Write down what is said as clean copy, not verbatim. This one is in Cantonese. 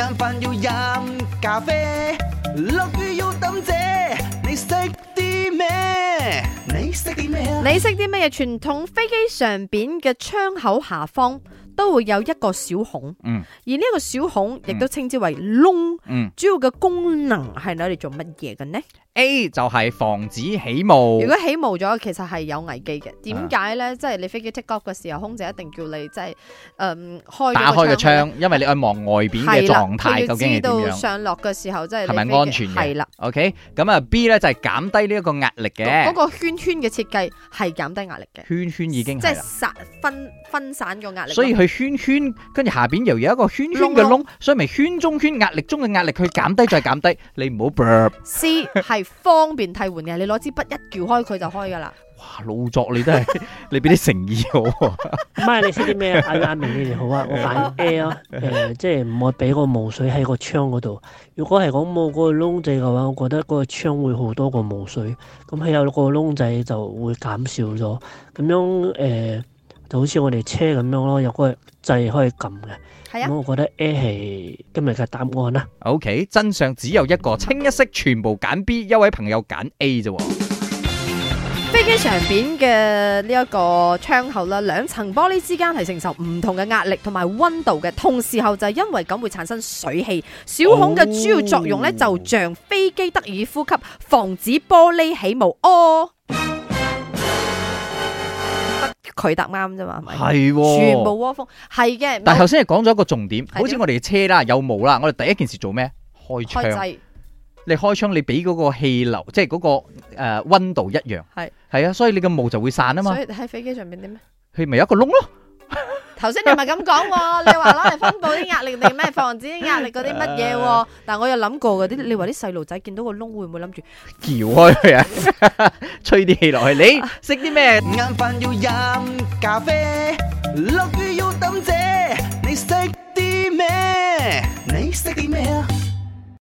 晏飯要飲咖啡，落雨要抌遮，你識啲咩？你識啲咩啊？ 你識啲咩嘢？傳統飛機上邊嘅窗口下方都會有一個小孔，而呢個小孔亦都稱之為窿，主要嘅功能係攞嚟做乜嘢嘅呢？ A 就係防止起霧。 如果起霧咗，其實係有危機嘅。點解咧？即係你飛機 take off 嘅時候，空姐一定叫你即係打開個窗，因為你愛望外邊嘅狀態究竟係點樣。 佢要知道上落嘅時候，即係係咪安全嘅？ 係啦。 OK， 咁啊 B 咧就係減低呢一個壓力嘅。 嗰個圈圈嘅設計係減低壓力嘅。 圈圈已經係啦， 即係分散個壓力。 所以佢圈圈，跟住下邊又有一個圈圈嘅窿，所以咪圈中圈壓力中嘅壓力，佢減低再減低，你唔好 burp。 C 係方便替換嘅，你攞支筆一撬開佢就開噶啦。 哇，老作你都係，你俾啲誠意好。 唔係，你識啲咩啊？阿明你哋好啊，我揀 A 啊。即係唔好俾個霧水喺個窗嗰度。如果係講冇嗰個窿仔嘅話，我覺得嗰個窗會好多個霧水。咁佢有個窿仔就會減少咗。咁樣就好似我哋車咁樣咯，有個掣可以撳嘅。係啊。咁我覺得 A 係今日嘅答案啦。 OK， 真相只有一個，清一色全部揀 B， 一位朋友揀 A 啫。 飛機上邊嘅呢一個窗口啦，兩層玻璃之間係承受唔同嘅壓力同埋溫度嘅，同時候就係因為咁會產生水氣。小孔嘅主要作用咧，就像飛機得以呼吸，防止玻璃起霧。佢答啱啫嘛，係咪？ 係， 全部窩蜂係嘅。 但係頭先係講咗一個重點，好似我哋嘅車啦，有霧啦，我哋第一件事做咩？開窗。你開窗，你俾嗰個氣流，即係嗰個溫度一樣。係啊，所以你個霧就會散啊嘛。 所以喺飛機上邊點咩？ 佢咪有一個窿咯。 頭先你咪咁講喎，你話攞嚟分布啲壓力定咩？防止啲壓力嗰啲乜嘢？但我有諗過嗰啲，你話啲細路仔見到個窿會唔會諗住撬開佢啊？吹啲氣落去，你識啲咩？ 晏飯要飲咖啡，落雨要抌遮，你識